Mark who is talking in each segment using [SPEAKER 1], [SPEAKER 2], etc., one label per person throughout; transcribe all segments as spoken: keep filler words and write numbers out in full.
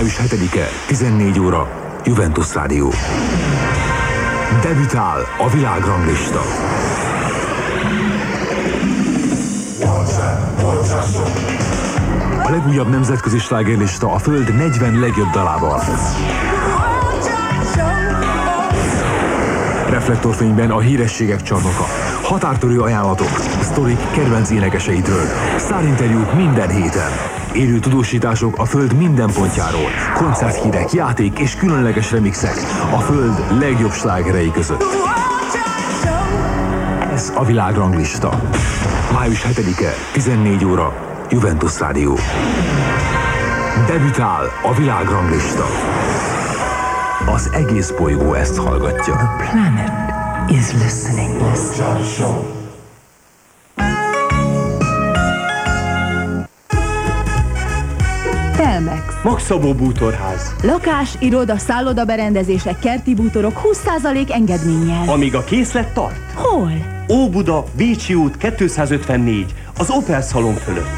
[SPEAKER 1] május hetedike, tizennégy óra, Juventus Rádió. Debütál a világranglista. A legújabb nemzetközi slágerlista a Föld negyven legjobb dalával. Reflektorfényben a hírességek csarnoka. Határtörő ajánlatok, sztorik kedvenc énekeseidről. Sztárinterjúk minden héten. Élő tudósítások a Föld minden pontjáról. Koncerthírek, játék és különleges remixek a Föld legjobb slágerei között. Ez a világranglista. május hetedike, tizennégy óra, Juventus Rádió. Debütál a világranglista. Az egész bolygó ezt hallgatja.
[SPEAKER 2] The planet is listening.
[SPEAKER 3] Telmex.
[SPEAKER 4] Magszabó bútorház.
[SPEAKER 3] Lakás, iroda, szálloda berendezések, kerti bútorok húsz százalék engedménnyel.
[SPEAKER 4] Amíg a készlet tart.
[SPEAKER 3] Hol?
[SPEAKER 4] Óbuda, Bécsi út kétszázötvennégy, az Opel Szalon fölött.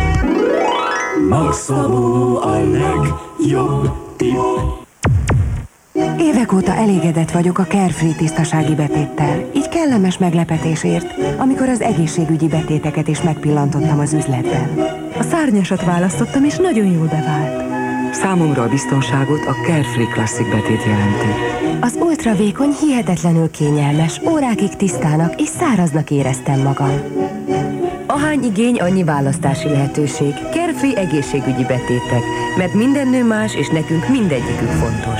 [SPEAKER 5] Magszabó a legjobb tipp.
[SPEAKER 2] Évek óta elégedett vagyok a Carefree tisztasági betéttel. Így kellemes meglepetésért, amikor az egészségügyi betéteket is megpillantottam az üzletben. A szárnyasat választottam, és nagyon jól bevált.
[SPEAKER 6] Számomra a biztonságot a Carefree Classic betét jelenti.
[SPEAKER 2] Az ultravékony, hihetetlenül kényelmes, órákig tisztának és száraznak éreztem magam. Ahány igény, annyi választási lehetőség. Carefree egészségügyi betétek, mert minden nő más, és nekünk mindegyikük fontos.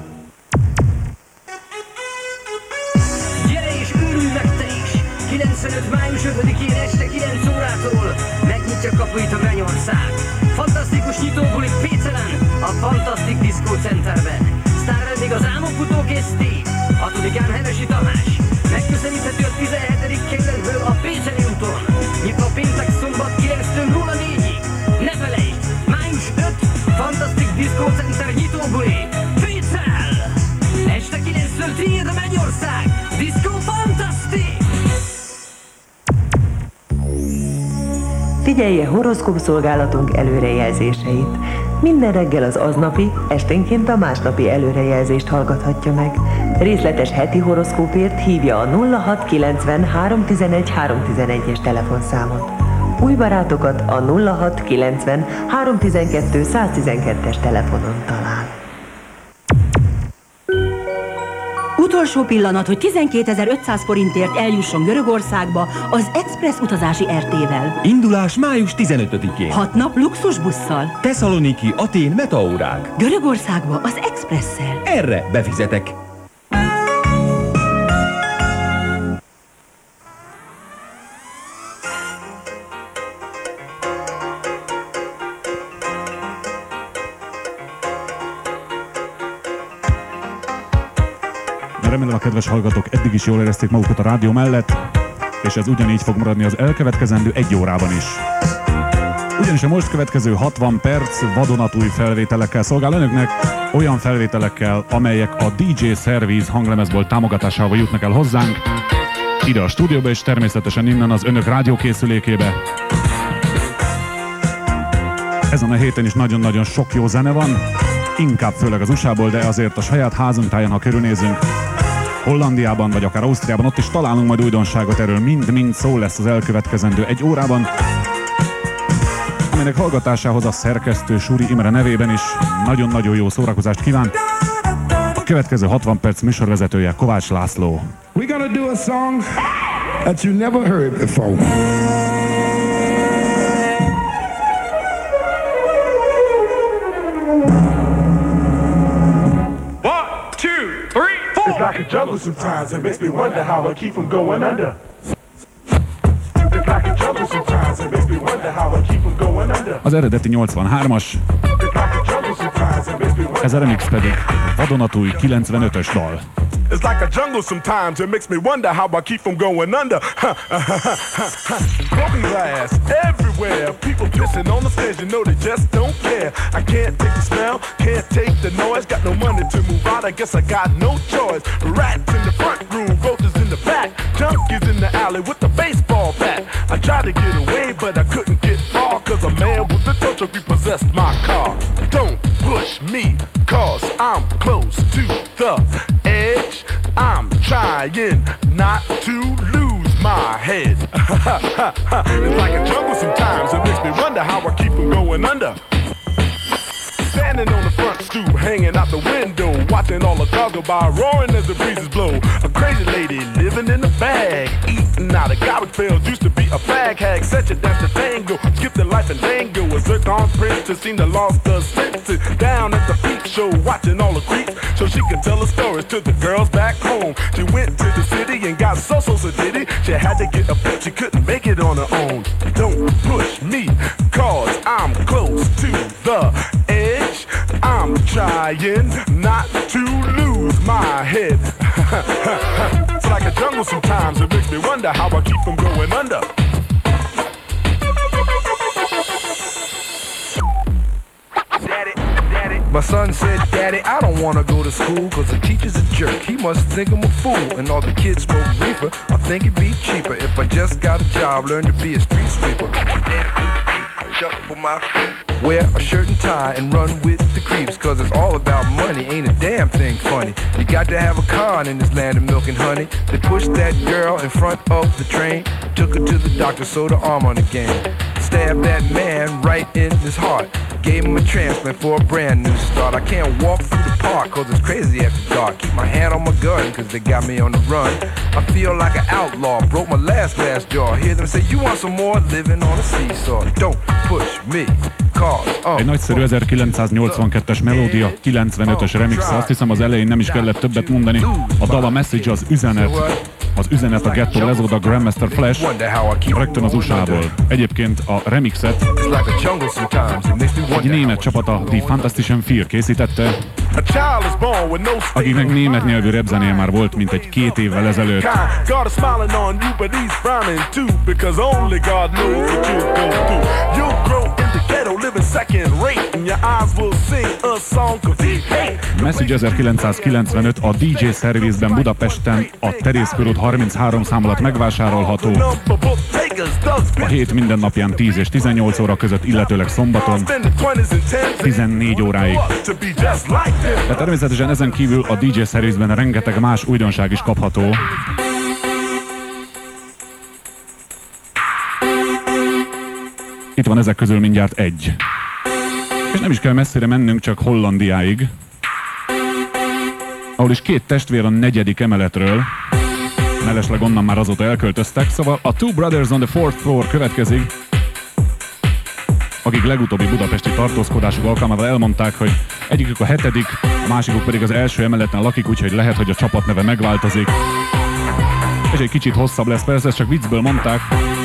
[SPEAKER 7] kilencvenöt május ötödikén este kilenc órától megnyitja kapuit a Mennyország. Fantasztikus nyitóbulik Pécelen, a Fantasztik Diszkó Centerben. Sztárvendég az álmokfutó Geszti, hatodikán Hevesi Tamás. Megközelíthető a tizenhetedik kerületből a Pécseli úton. Nyitva péntek szombat kilenctől nulla négyig. Ne felejtsd, május ötödike, Fantasztik Diszkó Center nyitóbuli Pécsel. Este kilenctől tiéd a Mennyország, Diszkó Fantasztik!
[SPEAKER 8] Figyelje horoszkópszolgálatunk előrejelzéseit. Minden reggel az aznapi, esténként a másnapi előrejelzést hallgathatja meg. Részletes heti horoszkópért hívja a nulla hat kilencven háromtizenegy háromtizenegyes telefonszámot. Új barátokat a nulla hat kilencven háromtizenkettő száztizenkettes telefonon talál.
[SPEAKER 9] Utolsó pillanat, hogy tizenkétezer-ötszáz forintért eljusson Görögországba az Express utazási er té-vel.
[SPEAKER 10] Indulás május tizenötödikén.
[SPEAKER 9] Hat nap luxusbusszal.
[SPEAKER 10] Tesszaloniki, Atén, metaórák.
[SPEAKER 9] Görögországba az Expresszel.
[SPEAKER 10] Erre befizetek.
[SPEAKER 11] Remélem a kedves hallgatók eddig is jól érezték magukat a rádió mellett, és ez ugyanígy fog maradni az elkövetkezendő egy órában is. Ugyanis a most következő hatvan perc vadonatúj felvételekkel szolgál önöknek, olyan felvételekkel, amelyek a dé dzsé Service hanglemezbolt támogatásával jutnak el hozzánk, ide a stúdióba és természetesen innen az önök rádiókészülékébe. Ezen a héten is nagyon-nagyon sok jó zene van, inkább főleg az u es á-ból, de azért a saját házunk táján, ha körülnézünk, Hollandiában vagy akár Ausztriában, ott is találunk majd újdonságot, erről mind-mind szó lesz az elkövetkezendő egy órában, aminek hallgatásához a szerkesztő Suri Imre nevében is nagyon-nagyon jó szórakozást kíván. A következő hatvan perc műsorvezetője Kovács László.
[SPEAKER 12] We're gonna do a song that you never heard before. It's like a jungle sometimes, it makes me wonder how I keep from going under. It's like a jungle sometimes, it makes me wonder how I keep from going under.
[SPEAKER 11] Az eredeti nyolcvanhármas, ez a remix pedig vadonatúj kilencvenötös dal.
[SPEAKER 12] It's like a jungle sometimes, it makes me wonder how I keep from going under. Broken glass everywhere, people pissing on the stairs, you know they just don't care. I can't take the smell, can't take the noise, got no money to move out, I guess I got no choice. Rats in the front room, roaches in the back, junkies in the alley with the baseball bat. I tried to get away, but I couldn't get far, cause a man with a touch of repossessed possess my car. Don't push me, cause I'm close to the edge. I'm trying not to lose my head. It's like a jungle sometimes, it makes me wonder how I keep from going under. Standing on the front stoop, hanging out the window, watching all the cars go by, roaring as the breezes blow. A crazy lady living in a bag, eating out of garbage pails, used to be a fag hag, such a dance to tango, skip the life and tango. A zircon princess seemed to lost her senses, down at the peep show, watching all the creeps, so she could tell her stories to the girls back home. She went to the city and got so so so did it. She had to get a pimp, she couldn't make it on her own. Don't push me, cause I'm close to the edge. I'm trying not to lose my head. It's like a jungle sometimes, it makes me wonder how I keep from going under. Daddy, daddy. My son said, Daddy, I don't want to go to school cause the teacher's a jerk. He must think I'm a fool and all the kids smoke reefer. I think it'd be cheaper if I just got a job, learn to be a street sweeper. For my feet. Wear a shirt and tie and run with the creeps, cause it's all about money, ain't a damn thing funny. You got to have a con in this land of milk and honey. They pushed that girl in front of the train, took her to the doctor, sewed her arm on again. Stabbed that man right in his heart, gave him a transplant for a brand new start. I can't walk through the park cause it's crazy after dark. Keep my hand on my gun cause they got me on the run. I feel like an outlaw, broke my last glass jaw. Hear them say, you want some more, living on a seesaw. Don't push me.
[SPEAKER 11] Egy nagyszerű ezerkilencszáznyolcvankettes melódia, kilencvenötös remix, azt hiszem az elején nem is kellett többet mondani. A dal a message, az üzenet, az üzenet a Ghetto Lezoda Grandmaster Flash, rögtön az u es á-ból. Egyébként a remixet egy német csapat, a The Fantastician Fear készítette, akiknek német nyelvű repzenéje már volt, mint egy két évvel ezelőtt. Message ezerkilencszázkilencvenöt a dé dzsé Service-ben Budapesten a Terész körút harminchárom szám alatt megvásárolható. A hét minden napján tíz és tizennyolc óra között, illetőleg szombaton tizennégy óráig. De természetesen ezen kívül a dé dzsé Service-ben rengeteg más újdonság is kapható. Itt van ezek közül mindjárt egy. És nem is kell messzire mennünk, csak Hollandiáig, ahol is két testvér a negyedik emeletről, mellesleg onnan már azóta elköltöztek, szóval a Two Brothers on the Fourth Floor következik, akik legutóbbi budapesti tartózkodásuk alkalmával elmondták, hogy egyikük a hetedik, a másikuk pedig az első emeleten lakik, úgyhogy lehet, hogy a csapatneve megváltozik. És egy kicsit hosszabb lesz, persze, ezt csak viccből mondták.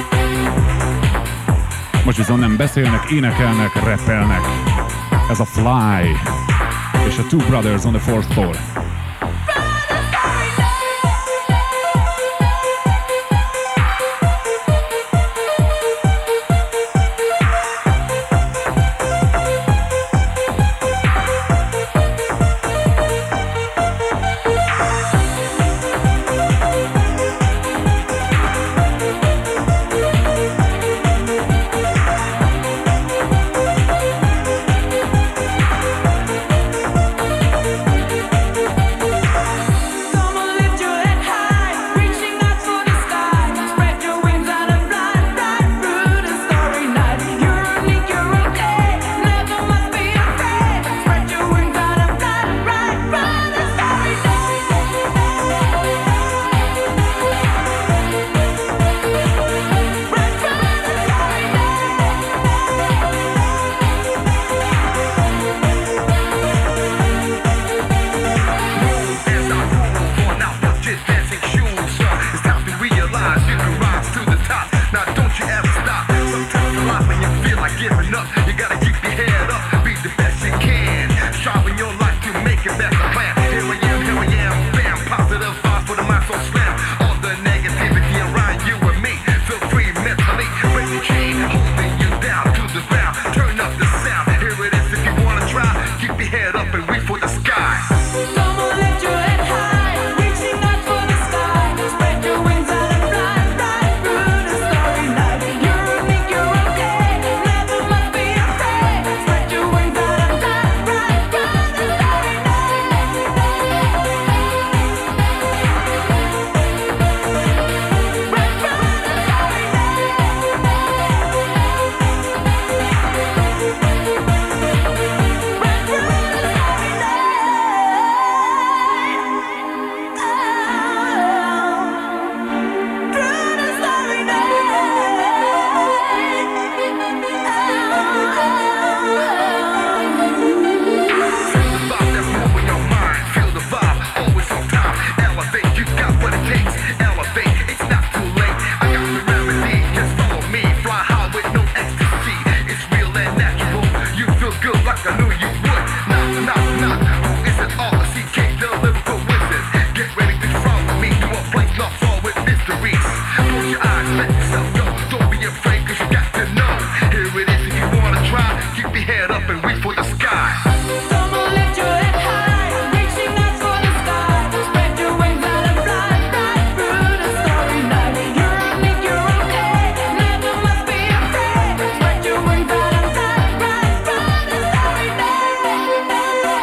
[SPEAKER 11] Most viszont nem beszélnek, énekelnek, rappelnek. Ez a Fly és a Two Brothers on the Fourth Floor.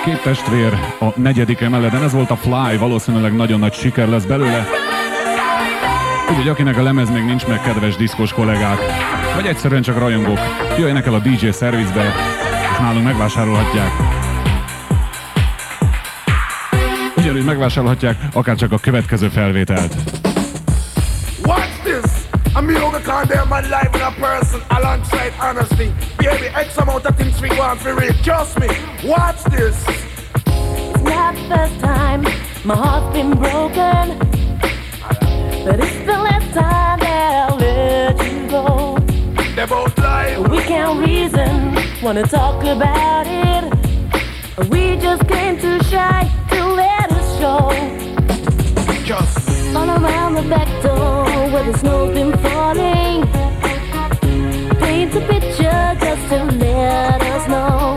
[SPEAKER 11] Két testvér a negyedik emeleten, ez volt a Fly, valószínűleg nagyon nagy siker lesz belőle. Úgyhogy akinek a lemez még nincs meg, kedves diszkos kollégák, vagy egyszerűen csak rajongók, jöjjenek el a dé dzsé szervizbe, és nálunk megvásárolhatják. Ugyanúgy megvásárolhatják akár csak a következő felvételt.
[SPEAKER 12] Watch this! I'm me over condemn my life with a person alongside honesty. Baby, X amount of things we want for real. Trust me. Watch this.
[SPEAKER 13] It's not the first time my heart's been broken, but it's the last time that I'll let you go.
[SPEAKER 12] They both lie.
[SPEAKER 13] We can't reason, wanna talk about it. We just came too shy to let us show.
[SPEAKER 12] Just
[SPEAKER 13] all around the back door where the snow's been falling. Paint a picture just to let us know.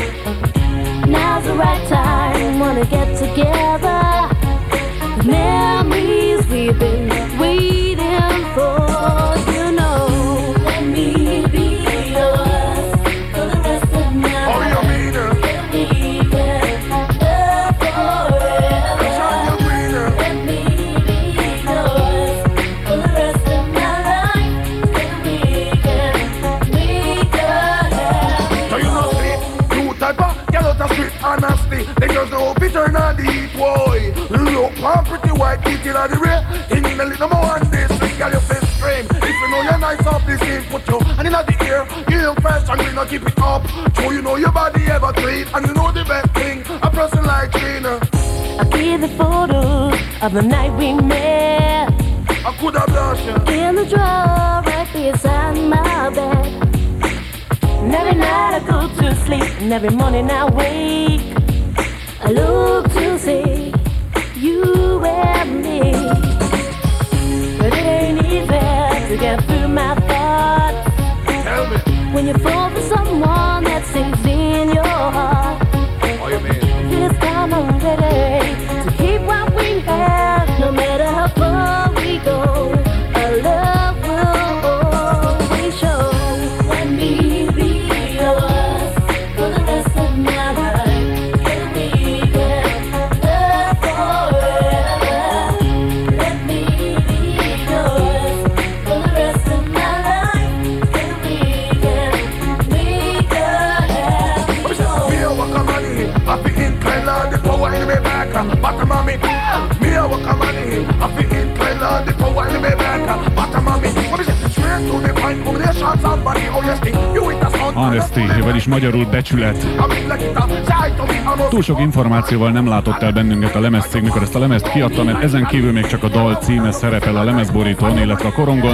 [SPEAKER 13] Now's the right time, wanna get together. The memories we've been waiting for, you know. Let me be yours for the rest of my life.
[SPEAKER 12] Oh, you mean it?
[SPEAKER 13] Let me get love forever. Let me be yours for the rest of my life. Then we can make a happy
[SPEAKER 12] so you know, see, two type of get out of street honesty. They just know bitter and deep, boy. Look, I'm pretty white, beating on the rear. In the little more on this, we got your face frame. If you know you're nice off this game, put you and in the ear. You look fresh and we not keep it up. So you know your body ever clean, and you know the best thing, a person like Gina.
[SPEAKER 13] I keep the photos of the night we met.
[SPEAKER 12] I could have lost you
[SPEAKER 13] in the drawer right beside my bed. And every night I go to sleep, and every morning I wake, I look to see you and me. But it ain't easy to get through my thoughts.
[SPEAKER 12] Tell me.
[SPEAKER 13] When you fall for someone that sings in your heart.
[SPEAKER 12] What you mean?
[SPEAKER 13] This time I'm ready to keep what we have. No matter how far we go, our love will always show. Let me be yours for the rest of my life. Let me get love forever. Let me be yours for the rest of my life. Let me get make a happy show.
[SPEAKER 12] Me a walk a money, I fi incline on the power in me back. Bottom of me, me a walk a money, I fi incline on the power in me back. Bottom of me, what is it? Straight to the point, combination somebody. Oh yes, thing, you with the sound.
[SPEAKER 11] Honesty, vagyis magyarul becsület. Túl sok információval nem látott el bennünket a lemezcég, mikor ezt a lemezt kiadta, mert ezen kívül még csak a dal címe szerepel a lemezborítón, illetve a korongon.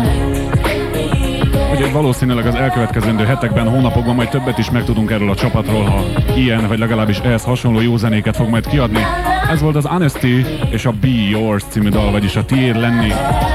[SPEAKER 11] Úgyhogy valószínűleg az elkövetkezendő hetekben, hónapokban majd többet is megtudunk erről a csapatról, ha ilyen, vagy legalábbis ehhez hasonló jó zenéket fog majd kiadni. Ez volt az Honesty és a Be Yours című dal, vagyis a tiéd lenni.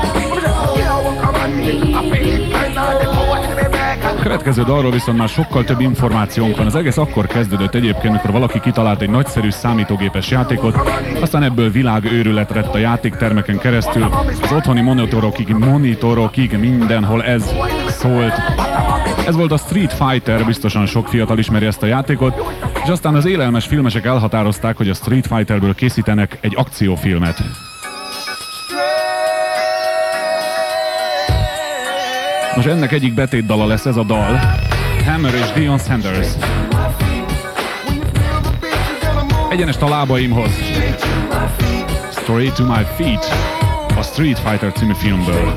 [SPEAKER 11] A következő dalról viszont már sokkal több információnk van. Az egész akkor kezdődött egyébként, mikor valaki kitalált egy nagyszerű számítógépes játékot, aztán ebből világőrület lett a játéktermeken keresztül, az otthoni monitorokig, monitorokig mindenhol ez szólt. Ez volt a Street Fighter, biztosan sok fiatal ismeri ezt a játékot, és aztán az élelmes filmesek elhatározták, hogy a Street Fighterből készítenek egy akciófilmet. Most ennek egyik betétdala lesz ez a dal, Hammer és Deion Sanders. Egyenest a lábaimhoz. Straight to my feet, a Street Fighter című filmből.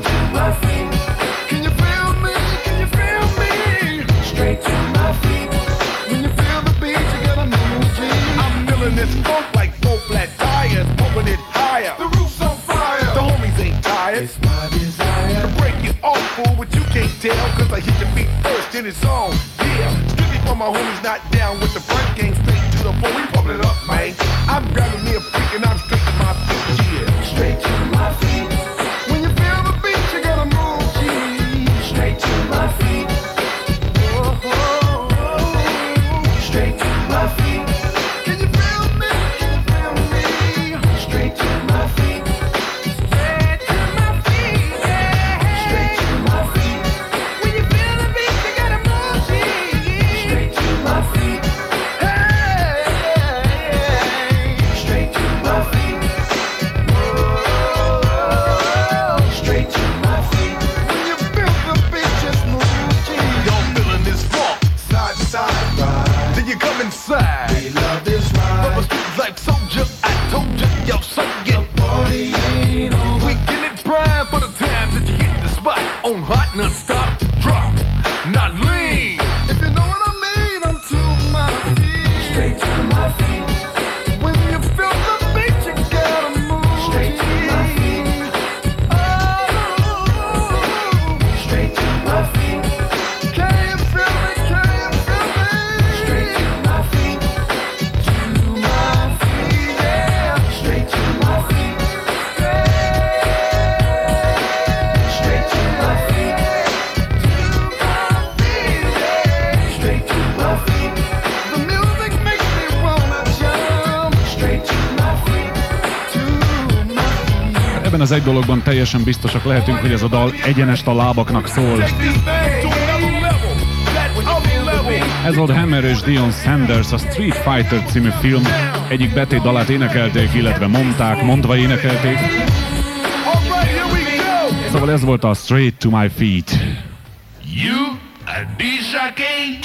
[SPEAKER 12] It's my desire to break it off, fool, but you can't tell, cause I hit your feet first in its own. Yeah, strictly for my homies not down with the front gang, straight to the floor, we pumping it up, man. I'm grabbing me a freak and I'm straight to my feet, yeah. Straight to my feet. When you feel the beat, you gotta move, G. Straight to my feet. Oh, oh, oh. Straight to my feet. Can you feel me? Can you feel me? Straight to my feet. Hey! side. We love this ride. From a street like soldier, I told you, yo, so get the party ain't over. We get it prime for the time that you hit the spot on hot non-stop drop, not lean. If you know what I mean, I'm to my feet, straight to my feet. When you feel the beat, you gotta move straight to my feet. Oh, straight to my feet. Can you feel me? Can you feel me? Straight to my feet. To my feet, yeah. Straight to my feet. Yeah. Straight to my feet. To my feet, yeah. Straight to my feet. The music makes me wanna jump. Straight to my feet. To my feet.
[SPEAKER 11] Ebben az egy dologban teljesen biztosak lehetünk, hogy ez a dal egyenest a lábaknak szól. Ez volt Hammer és Dion Sanders, a Street Fighter című film egyik betét dalát énekelték, illetve mondták, mondva énekelték. Szóval ez volt a Straight to My Feet.
[SPEAKER 12] You a disjockey?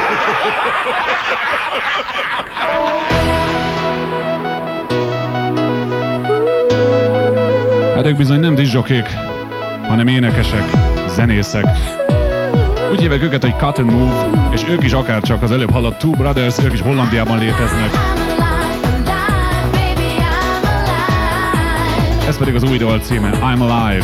[SPEAKER 11] Hát ők bizony nem disjokék, hanem énekesek, zenészek. Úgy hívják őket, hogy Cut and Move, és ők is akárcsak az előbb hallott Two Brothers, ők is Hollandiában léteznek. Ez pedig az új dal címe, I'm Alive.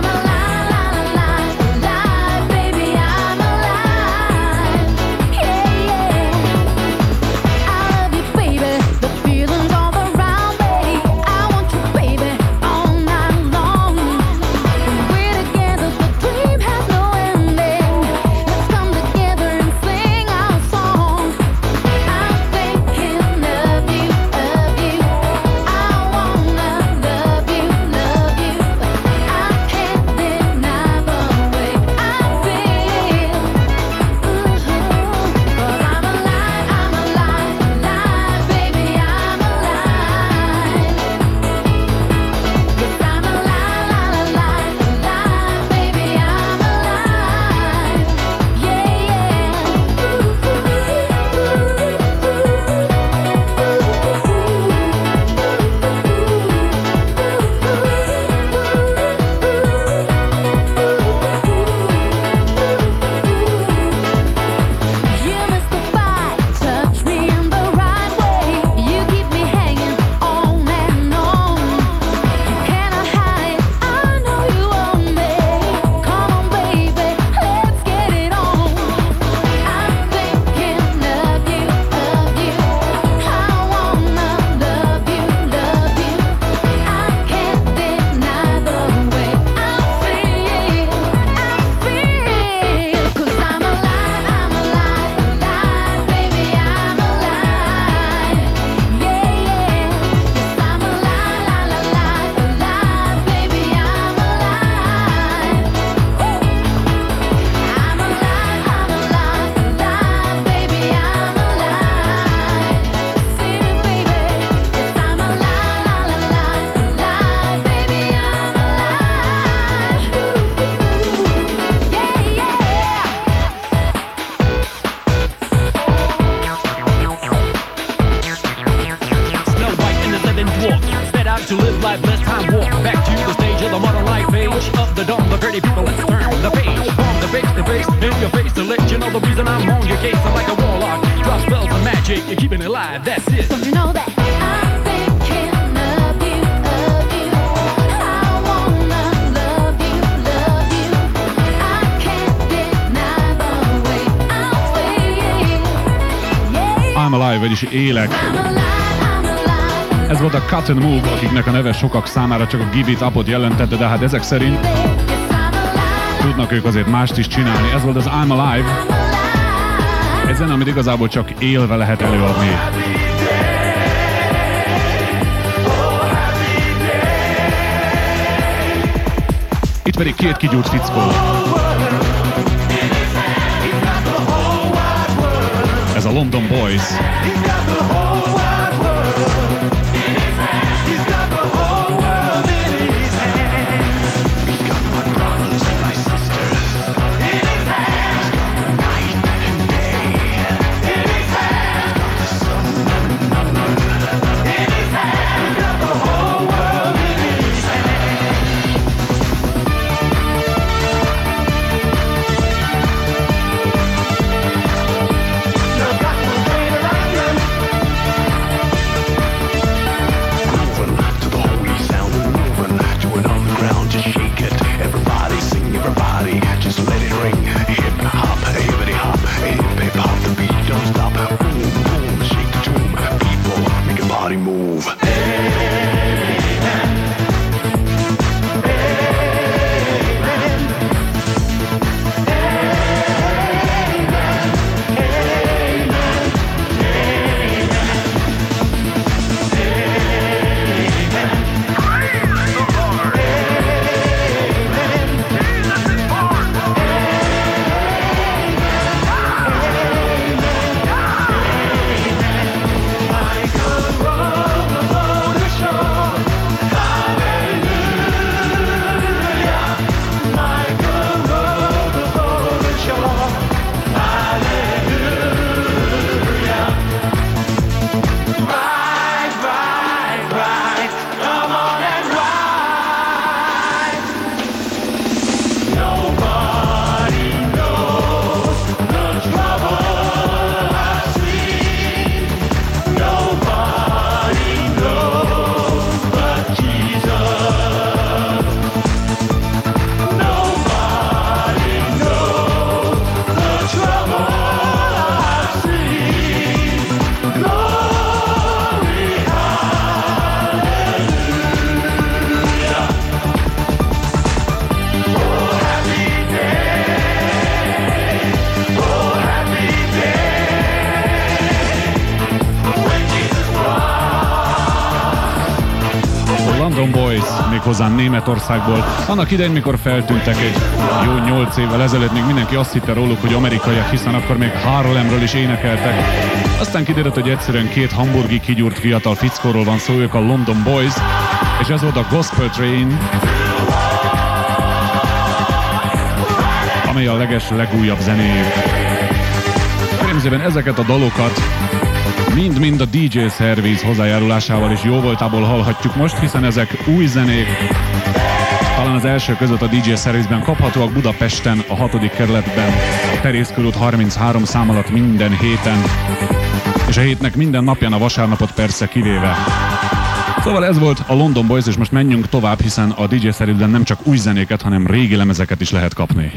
[SPEAKER 11] Vagyis élek. Ez volt a Cut and Move, akiknek a neve sokak számára csak a Give It Up-ot jelentette, de hát ezek szerint tudnak ők azért mást is csinálni. Ez volt az I'm Alive. Egy zene, amit igazából csak élve lehet előadni. Itt pedig két kigyúrt fickó. Ez a London Boys.
[SPEAKER 5] move.
[SPEAKER 11] Hozzá Németországból. Annak idején, mikor feltűntek egy jó nyolc évvel ezelőtt, még mindenki azt hitte róluk, hogy amerikaiak, hiszen akkor még Harlemről is énekeltek. Aztán kiderült, hogy egyszerűen két hamburgi kigyúrt fiatal fickóról van szó, ők a London Boys, és ez volt a Gospel Train, amely a leges legújabb zenéjük. Kérem ezeket a dalokat mind-mind a dé dzsé Service hozzájárulásával és jó voltából hallhatjuk most, hiszen ezek új zenék. Talán az első között a dé dzsé Service-ben kaphatóak Budapesten, a hatodik kerületben, a Terész körút harminchárom szám alatt minden héten, és a hétnek minden napján, a vasárnapot persze kivéve. Szóval ez volt a London Boys, és most menjünk tovább, hiszen a dé dzsé Service-ben nem csak új zenéket, hanem régi lemezeket is lehet kapni.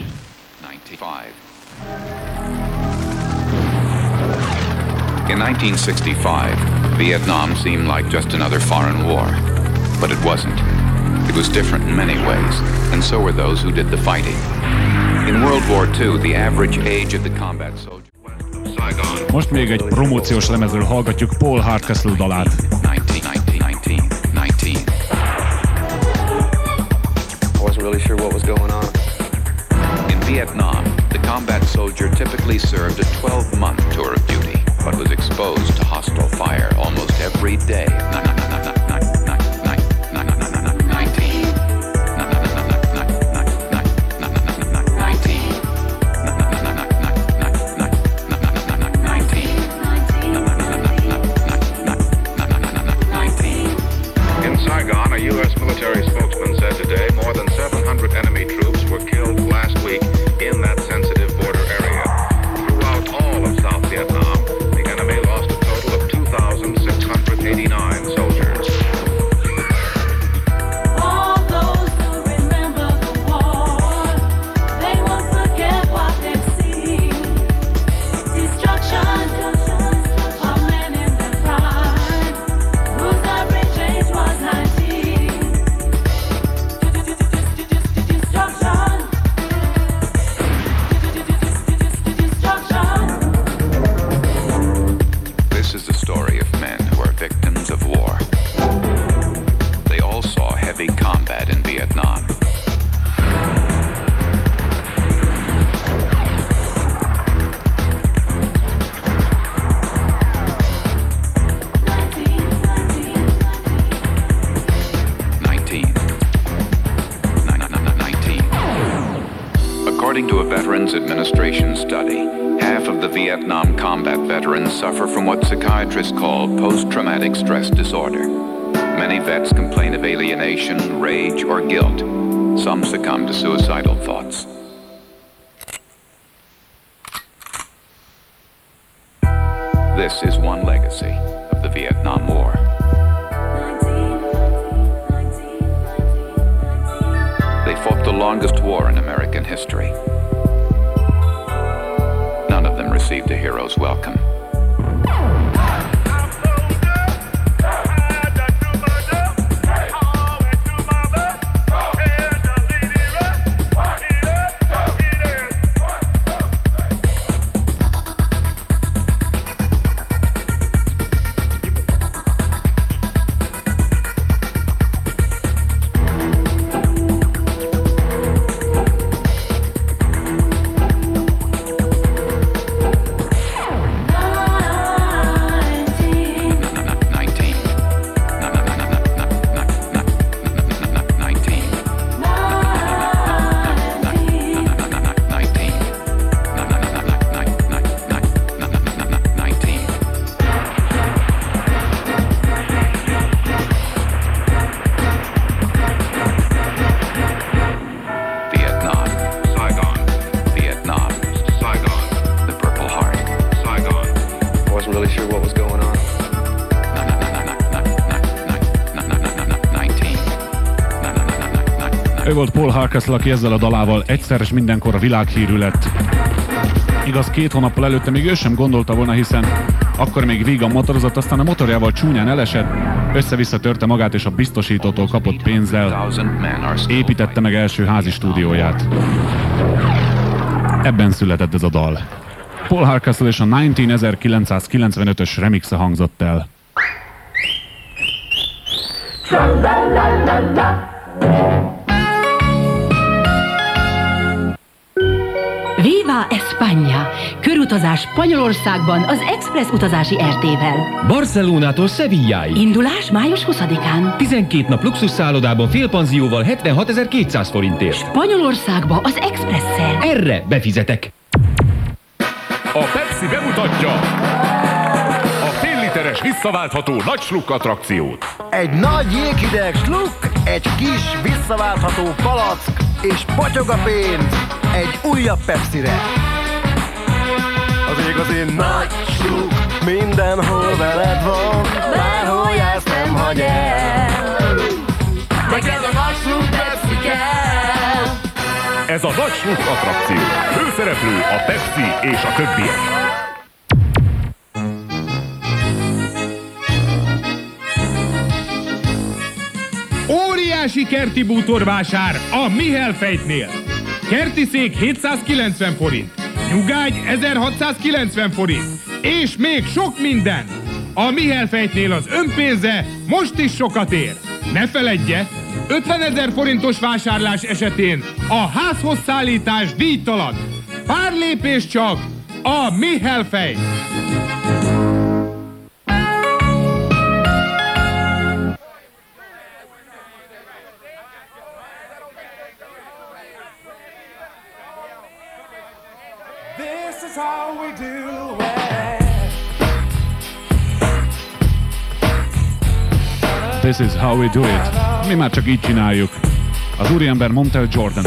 [SPEAKER 14] In nineteen sixty-five, Vietnam seemed like just another foreign war. But it wasn't. It was different in many ways, and so were those who did the fighting. In World War Two, the average age of the combat soldier west of Saigon.
[SPEAKER 11] Most még egy promóciós lemezről hallgatjuk Paul Hardcastle dalát.
[SPEAKER 14] nineteen, nineteen, nineteen, nineteen.
[SPEAKER 15] I wasn't really sure what was going on.
[SPEAKER 14] In Vietnam, the combat soldier typically served a twelve-month tour of duty, but was exposed to hostile fire almost every day.
[SPEAKER 16] In Saigon, a U S military spokesman said today more than seven hundred enemy troops were killed last week in that sensitive border area. Throughout all of South Vietnam, the enemy lost a total of two thousand six hundred eighty-nine soldiers.
[SPEAKER 13] All those who remember the war, they won't forget what they've seen. Destruction of men in their prime, whose average age was nineteen. Destruction.
[SPEAKER 14] This is the story of men who are victims of war. They all saw heavy combat in Vietnam. nineteen. nineteen. According to a Veterans Administration study, half of the Vietnam combat veterans suffer from what psychiatrists call post-traumatic stress disorder. Many vets complain of alienation, rage, or guilt. Some succumb to suicidal thoughts. This is one legacy of the Vietnam War. They fought the longest war in American history. None of them received a hero's welcome.
[SPEAKER 11] Ő volt Paul Hardcastle, aki ezzel a dalával egyszer és mindenkor a világhírű lett. Igaz, két hónappal előtte még ő sem gondolta volna, hiszen akkor még vígan motorozott, aztán a motorjával csúnyán elesett, össze-vissza törte magát és a biztosítótól kapott pénzzel építette meg első házi stúdióját. Ebben született ez a dal. Paul Hardcastle és a ezerkilencszázkilencvenötös remixe hangzott el.
[SPEAKER 9] Viva España! Körutazás Spanyolországban az Express utazási er té-vel.
[SPEAKER 10] Barcelonától Sevilláig.
[SPEAKER 9] Indulás május huszadikán.
[SPEAKER 10] tizenkét nap luxus szállodában félpanzióval hetvenhatezer-kétszáz forintért.
[SPEAKER 9] Spanyolországba az Expresszel.
[SPEAKER 10] Erre befizetek.
[SPEAKER 17] A Pepsi bemutatja a fél literes visszaváltható nagy sluk attrakciót.
[SPEAKER 18] Egy nagy jéghideg sluk, egy kis visszaváltható palack, és potyog a pénz egy újabb Pepsire.
[SPEAKER 12] Az igazi nagy sluk mindenhol veled van, bárhol jársz nem hagy el. Neked a nagy sluk Pepsi kell.
[SPEAKER 17] Ez a nagy sluk attrakció. Főszereplő a Pepsi és a többiek.
[SPEAKER 19] Óriási kerti bútorvásár a Mihelfejtnél. Kerti szék hétszázkilencven forint, nyugágy ezerhatszázkilencven forint, és még sok minden. A Mihelfejtnél az önpénze most is sokat ér. Ne feledje, ötvenezer forintos vásárlás esetén a házhoz szállítás díjtalan. Pár lépés csak, a Mihelfejt.
[SPEAKER 12] This is how we do it.
[SPEAKER 11] This is how we do it. Mi már csak így csináljuk. Az úriember Montel Jordan.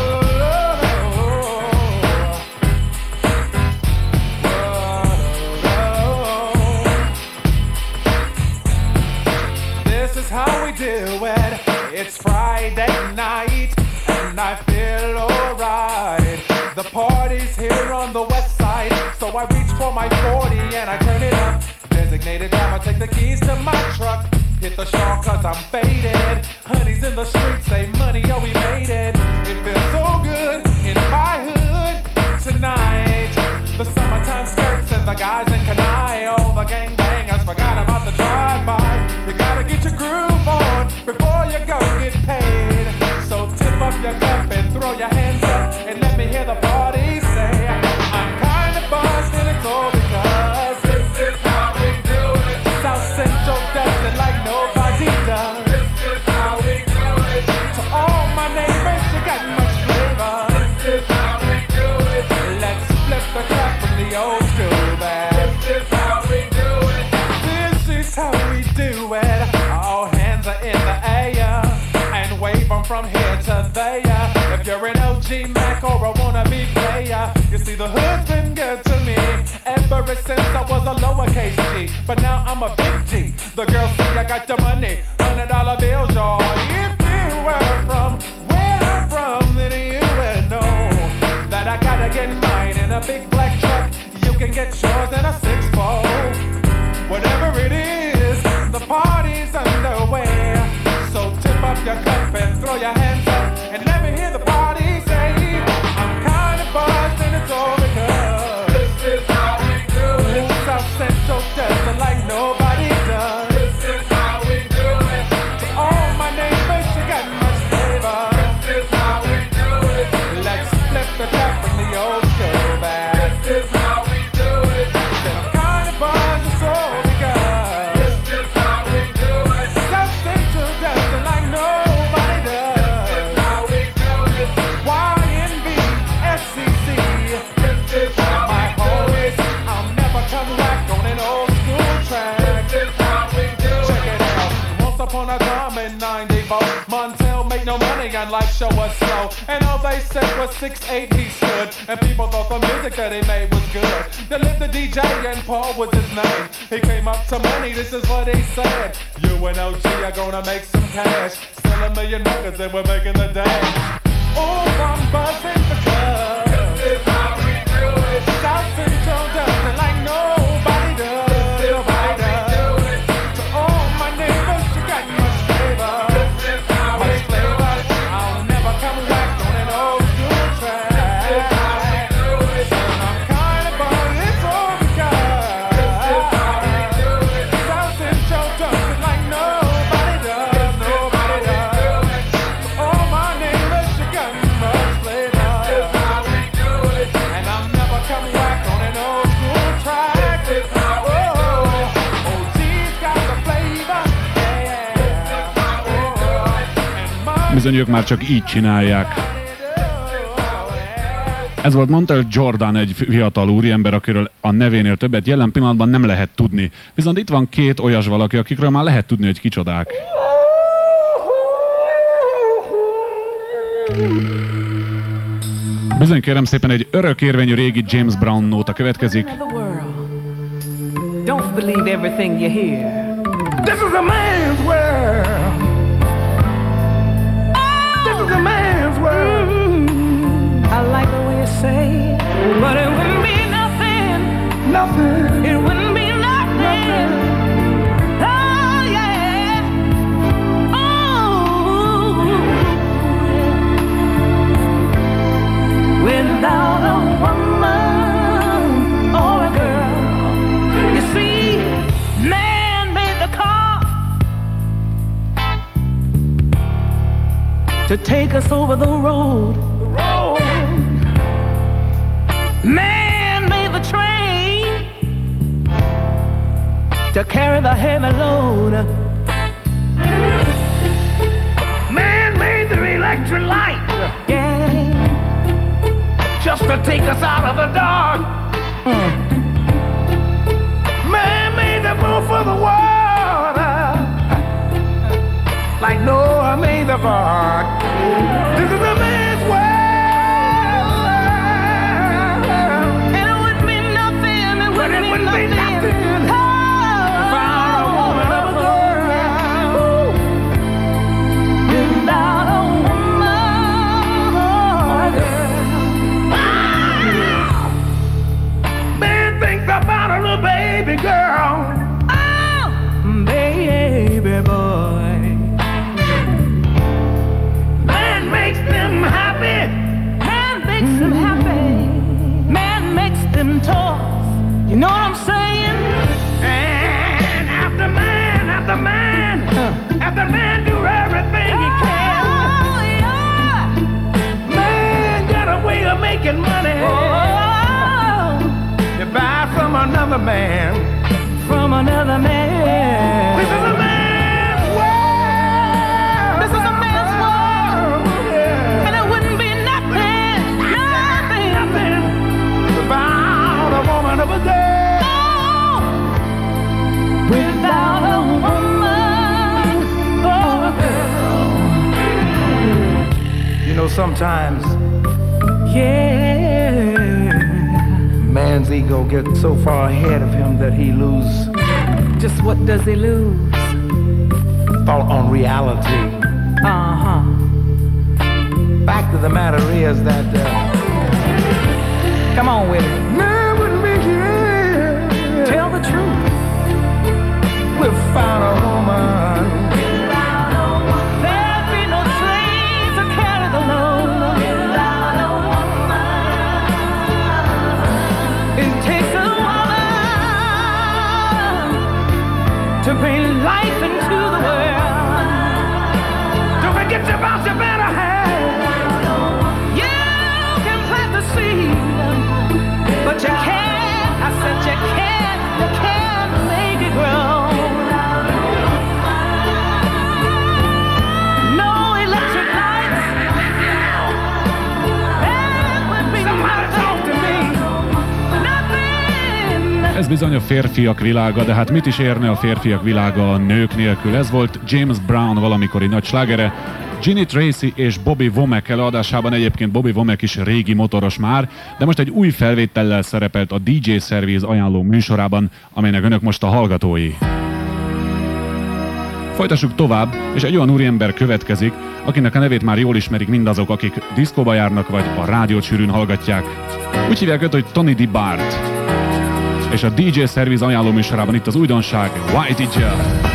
[SPEAKER 12] This is how we do it. It's Friday night and I feel alright. The party's here on the west side, so I reach for my forty and I turn it up. Designated driver, take the keys to my truck. Hit the shore cause I'm faded. Honey's in the streets, say money, oh we made it. It feels so good in my hood tonight. The summertime skirts and the guys in Kanai. All the gangbangers forgot about the drive-by. You gotta get your groove on before you go get paid. So tip up your cup and throw your hands up and let me hear the party say, I'm kinda buzzed and it's all because this is how we do it. South Central does it like nobody does. This is how we do it. To all my neighbors, you got much flavor. This is how we do it. Let's flip the crap from the old school back. This is how we do it. This is how we do it. All hands are in the air and wave them from here to there. If you're an O G Mac or a wannabe player, you see the hood's been good to me ever since I was a lowercase G. But now I'm a big G. The girls see I got the money, hundred dollar bills, y'all. If you were from where I'm from, then you would know that I gotta get mine in a big black truck. You can get yours in a six fold. Whatever it is, the party's underway. So tip up your cup and throw your hands up and let me hear the party say, I'm kinda buzzed and it's all because this is how we do it. South Central does it like nobody does. This is how we do it. To all my neighbors, you got much flavor. This is how we do it. Let's flip the cup from the old school back. This is how we do it. Then upon a time in ninety-four, Montel made no money and life show was slow. And all they said was six eight he stood, and people thought the music that he made was good. They lived the D J and Paul was his name. He came up to money, this is what he said. You and O G are gonna make some cash. Sell a million records and we're making the dash. Oh, I'm buzzing the club. This is how we do it. South Central does it like nobody does. Nobody does. To all my neighbors, you got much flavor. This is how we do it. I'll never come back on an old school track. This is how we do it. I'm kind of buzzing, it's all because. This is how we do it. South Central does it like nobody does. Nobody does. To all my neighbors, you got much flavor. This is how we do it. And I'm never coming back on an old school track. This is how we do it. O G's got the flavor.
[SPEAKER 11] Bizony ők már csak így csinálják. Ez volt Montel Jordan, egy fiatal úriember, akiről a nevénél többet jelen pillanatban nem lehet tudni. Viszont itt van két olyas valaki, akikről már lehet tudni, hogy kicsodák. Bizony kérem szépen, egy örökérvényű régi James Brown nóta következik.
[SPEAKER 20] Don't believe everything you hear. This is a man's world. This is a man's world. Mm-hmm. I like the way you say it, but it wouldn't be nothing. Nothing. It wouldn't be nothing. nothing. Oh yeah. Oh. Without a woman or a girl, you see, man made the car to take us over the road. The road. Man made the train to carry the heavy load. Man made the electric light, yeah, just to take us out of the dark. Mm. Man made the moon for the water, like Noah made the ark. This is a man's world, and it wouldn't be nothing. It wouldn't, it wouldn't be nothing. Be nothing. Oh, without a woman of a girl, without a woman or a girl. Man thinks about a little baby girl. Oh, baby boy. Man makes them happy. Man makes them happy. Man makes them tough. You know what I'm saying? And after man, after man, after man do everything he can. Oh, yeah. Man got a way of making money. Oh. You buy from another man. From another man. This is a man's world. This is a man's world. Yeah. And it wouldn't be nothing, nothing, nothing without a woman of a girl. Oh. Without a woman or a girl. You know, sometimes, yeah, man's ego gets so far ahead of him that he loses. Just what does he lose? Thought on reality. Uh-huh. Fact of the matter is that, uh, come on with it. Man wouldn't be here. Tell the truth. Without a woman. Without a woman. There'd be no train to carry the load. Without a woman. It takes a woman to bring life into the world. Don't forget about your better half. You can plant the seed, but you can't, I said you can't, you can't make it grow. No electric lights. That would be somebody talk to me. Nothing.
[SPEAKER 11] Ez bizony a férfiak világa, de hát mit is érne a férfiak világa a nők nélkül? Ez volt James Brown valamikori nagy slágere. Ginny Tracy és Bobby Womack előadásában, egyébként Bobby Womack is régi motoros már, de most egy új felvétellel szerepelt a dé dzsé Service ajánló műsorában, amelynek önök most a hallgatói. Folytassuk tovább, és egy olyan úriember következik, akinek a nevét már jól ismerik mindazok, akik diszkóba járnak, vagy a rádiót sűrűn hallgatják. Úgy hívják őt, hogy Tony D. Bart. És a dé dzsé Service ajánló műsorában itt az újdonság, Why Did Ya?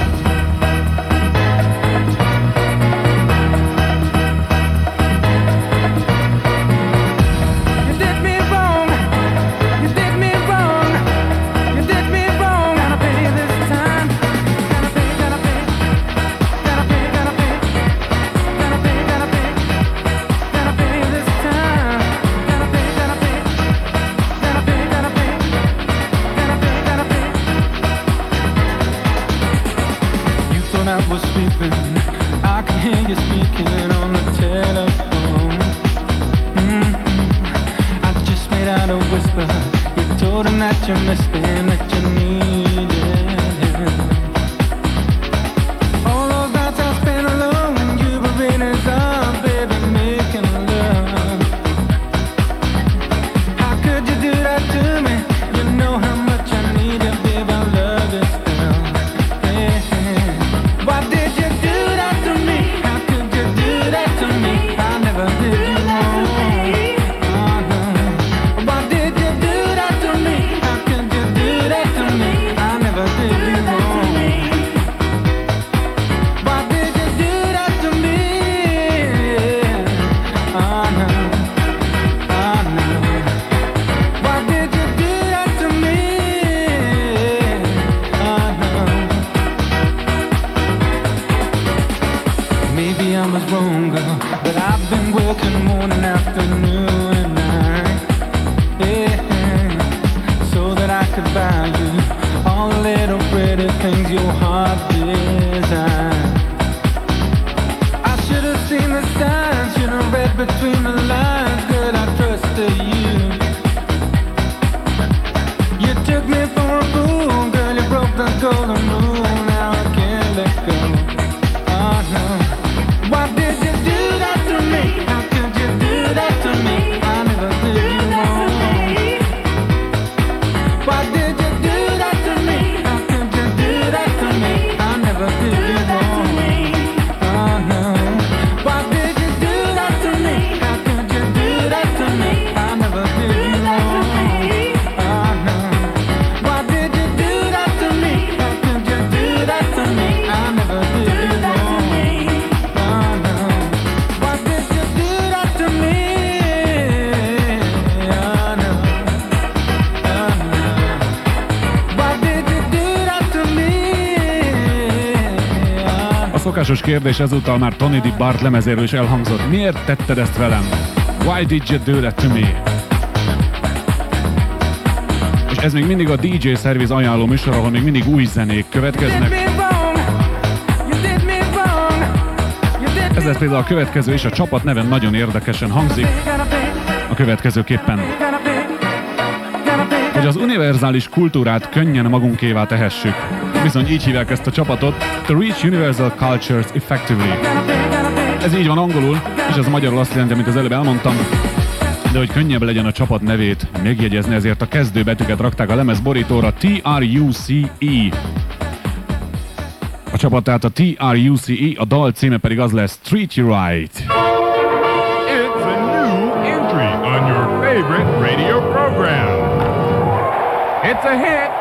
[SPEAKER 11] Szokásos kérdés ezúttal már Tony D. Bart lemezéről is elhangzott. Miért tetted ezt velem? Why did you do that to me? És ez még mindig a dé dzsé Service ajánló műsor, ahol még mindig új zenék következnek. Ez lesz például a következő, és a csapat neven nagyon érdekesen hangzik. A következőképpen. Hogy az univerzális kultúrát könnyen magunkévá tehessük. Bizony így hívják ezt a csapatot, To Reach Universal Cultures Effectively. Ez így van angolul, és ez magyarul azt jelenti, amit az előbb elmondtam, de hogy könnyebb legyen a csapat nevét megjegyezni, ezért a kezdőbetűket rakták a lemez borítóra, té er u cé e. A csapat tehát a té er u cé e, a dal címe pedig az lesz Treat You Right.
[SPEAKER 17] It's a new entry on your favorite radio program. It's a hit.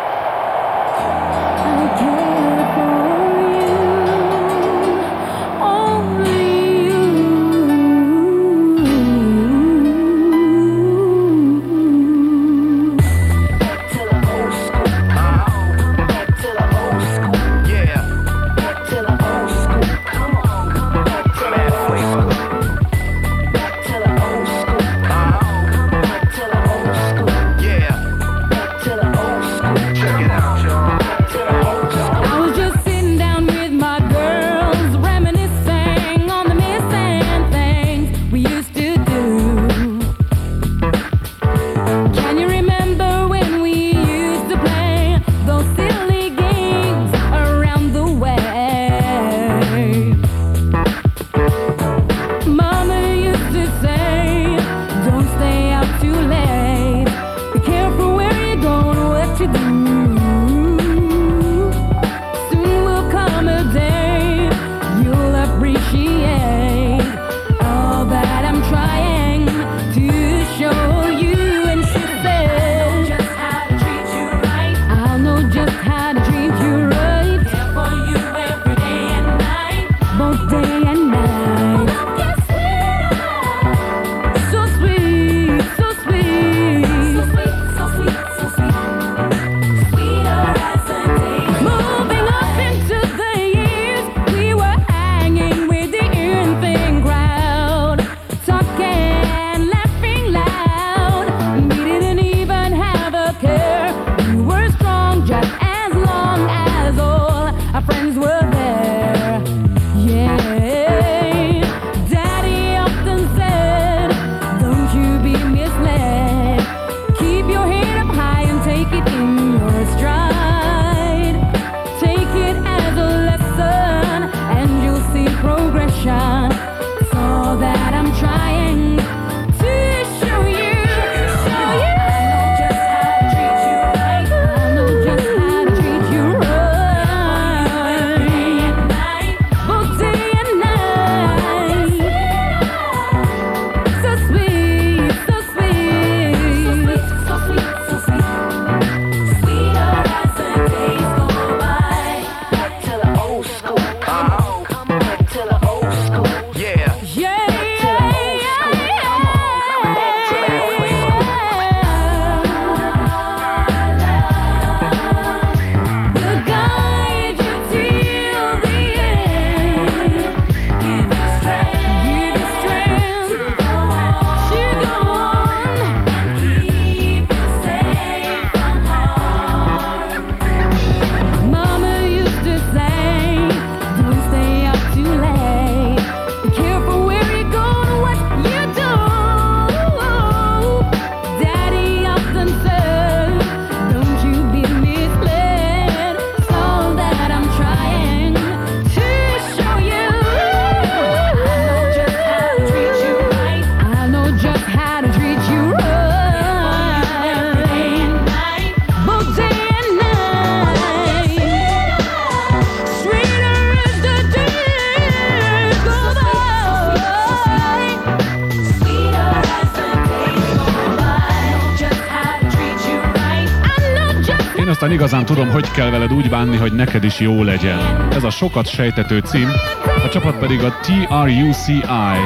[SPEAKER 11] Aztán igazán tudom, hogy kell veled úgy bánni, hogy neked is jó legyen. Ez a sokat sejtető cím, a csapat pedig a té er u cé i.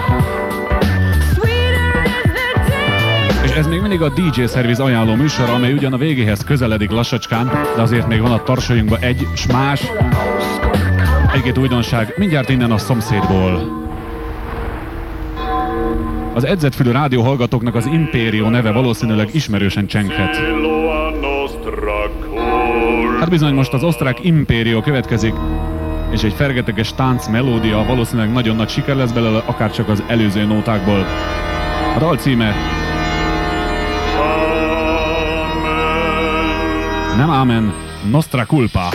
[SPEAKER 11] És ez még mindig a dé dzsé szerviz ajánló műsor, amely ugyan a végéhez közeledik lassacskán, de azért még van a tarsainkba egy s más, egy-két újdonság, mindjárt innen a szomszédból. Az edzettfülű rádióhallgatóknak az Imperio neve valószínűleg ismerősen csenghet. Hát bizony, most az osztrák Imperio következik, és egy fergeteges tánc melódia valószínűleg nagyon nagy siker lesz belőle, akárcsak az előző nótákból. A dal címe nem Amen, Nostra Culpa.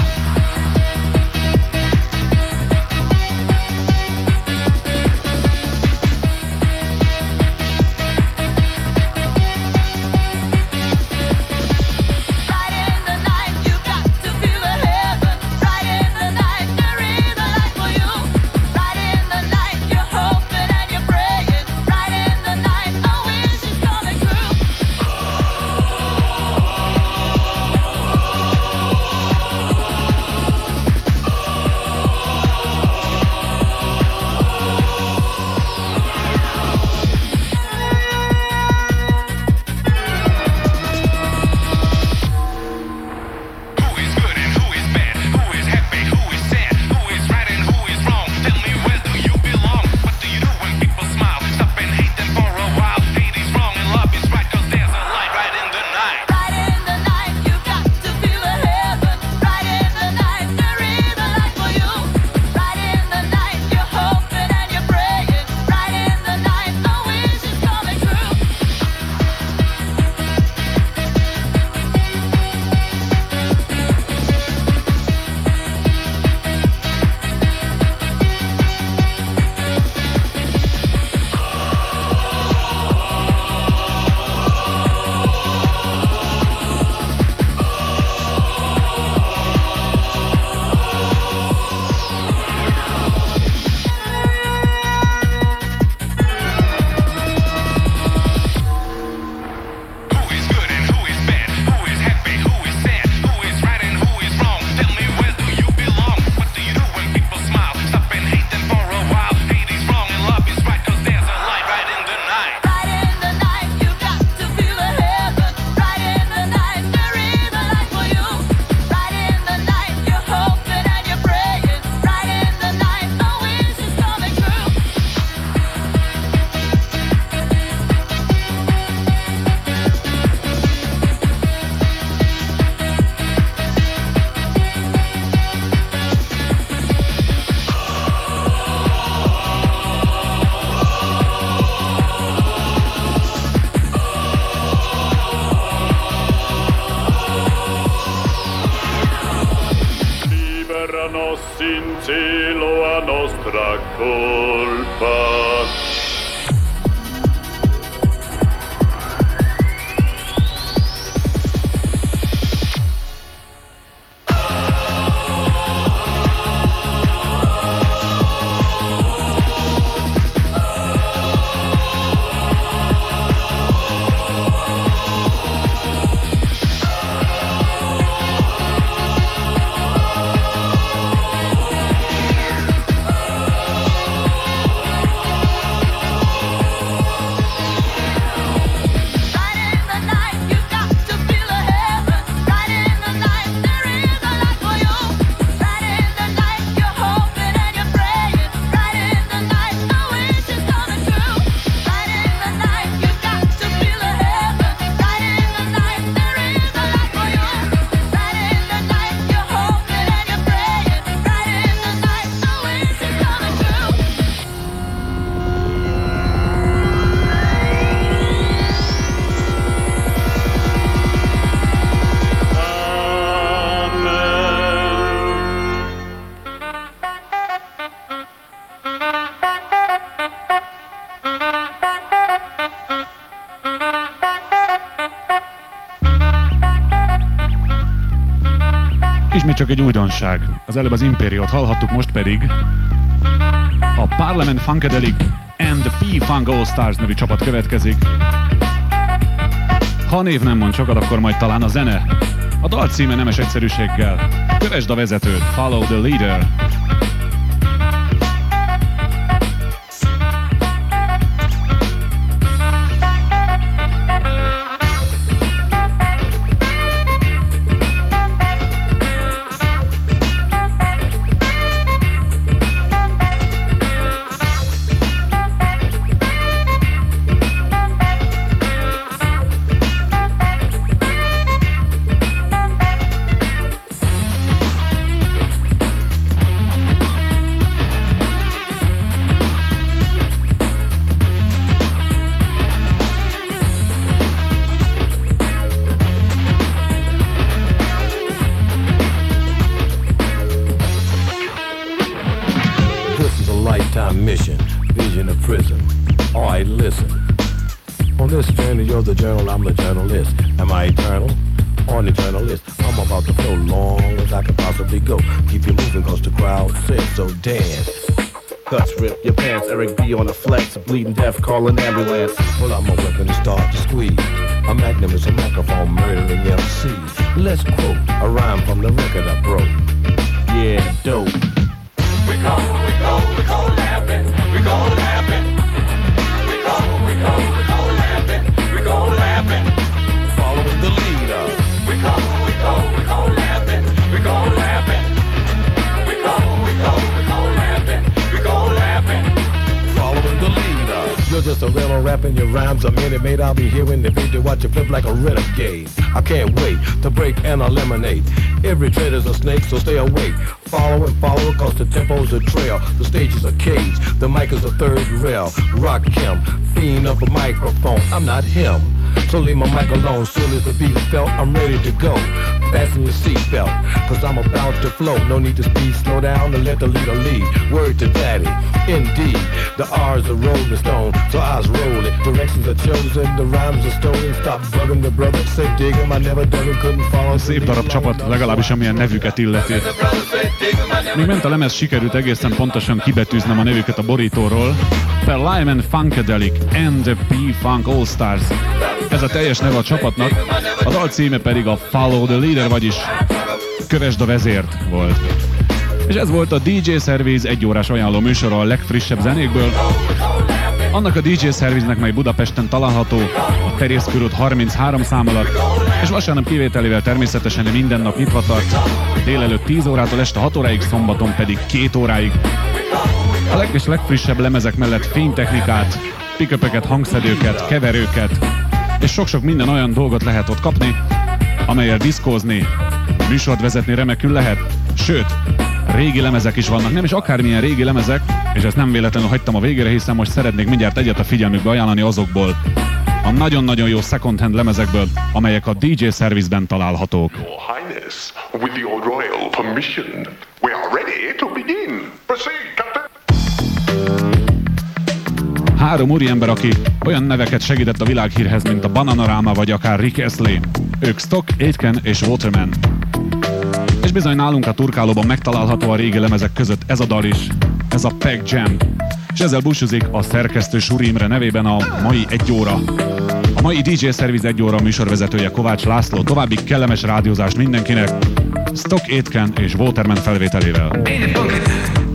[SPEAKER 11] Ismét csak egy újdonság. Az előbb az Imperiót hallhattuk, most pedig a Parliament Funkadelic and the P-Funk All Stars nevű csapat következik. Ha a név nem mond sokat, akkor majd talán a zene. A dal címe nemes egyszerűséggel. Kövesd a vezetőt, follow the leader.
[SPEAKER 21] Mission, vision of prison. Alright, listen. On this journey, you're the journal, I'm the journalist. Am I eternal? On the journalist, I'm about to flow long as I can possibly go. Keep you moving cause the crowd says so. Dance.
[SPEAKER 22] Guts rip your pants, Eric B on a flex, bleeding death, call an ambulance.
[SPEAKER 21] Pull out my weapon and start to squeeze. A magnum is a microphone murdering M Cs. Let's quote a rhyme from the record I broke.
[SPEAKER 22] Yeah, dope.
[SPEAKER 5] We go, we go, we go laughing, we go laughing. We go, we go, we go laughing, we go laughing.
[SPEAKER 21] Following the leader.
[SPEAKER 5] We go, we go, we go laughing, we go laughing. We go, we go, we go laughing, we go laughing.
[SPEAKER 21] Following the leader. You're just a real rapping your rhymes a minute made. I'll be here in the beat to watch you flip like a renegade. I can't wait to break and eliminate. Every trader's a snake, so stay awake. Follow and follow, cause the tempo's a trail. The stage is a cage, the mic is a third rail. Rock him, fiend of a microphone, I'm not him. So leave my mic alone, soon as the beat is felt, I'm ready to go. Fasten your seatbelt, cause I'm about to flow. No need to speed, slow down and let the leader lead. Word to daddy, indeed. The R's a rolling stone, so I was rolling. Directions are chosen, the rhymes are stolen. Stop bugging the brother, say dig him, I never done it, couldn't follow.
[SPEAKER 11] Szép darab csapat, legalábbis amilyen nevüket illeti. Még ment a lemez, sikerült egészen pontosan kibetűznem a nevüket a borítóról. The Lyman Funkadelic and the P-Funk All-Stars. Ez a teljes neve a csapatnak, a dal címe pedig a Follow the Leader, vagyis Kövesd a vezért volt. És ez volt a dé dzsé Service egyórás ajánló műsora a legfrissebb zenékből. Annak a dé dzsé Service-nek, mely Budapesten található, a Terjész körút harminchárom szám alatt, és vasárnap kivételével természetesen minden nap nyitva tart, délelőtt tíz órától este hat óráig, szombaton pedig két óráig. A leg- és legfrissebb lemezek mellett fénytechnikát, pick-upeket, hangszedőket, keverőket, és sok-sok minden olyan dolgot lehet ott kapni, amellyel diszkózni, műsort vezetni remekül lehet, sőt, régi lemezek is vannak, nem is akármilyen régi lemezek, és ezt nem véletlenül hagytam a végére, hiszen most szeretnék mindjárt egyet a figyelmükbe ajánlani azokból, a nagyon-nagyon jó second-hand lemezekből, amelyek a dé dzsé Service-ben találhatók.
[SPEAKER 23] Your Highness, with your royal permission, we are ready to begin. Proceed, Captain.
[SPEAKER 11] Három úriember, aki olyan neveket segített a világhírhez, mint a Bananarama vagy akár Rick Astley. Ők Stock, Aitken és Waterman. És bizony nálunk a turkálóban megtalálható a régi lemezek között ez a dal is, ez a Pack Jam. És ezzel búcsúzik a szerkesztő Suri Imre nevében a mai egy óra. A mai dé dzsé Service egy óra műsorvezetője Kovács László. További kellemes rádiózást mindenkinek, Stock, Aitken és Waterman felvételével.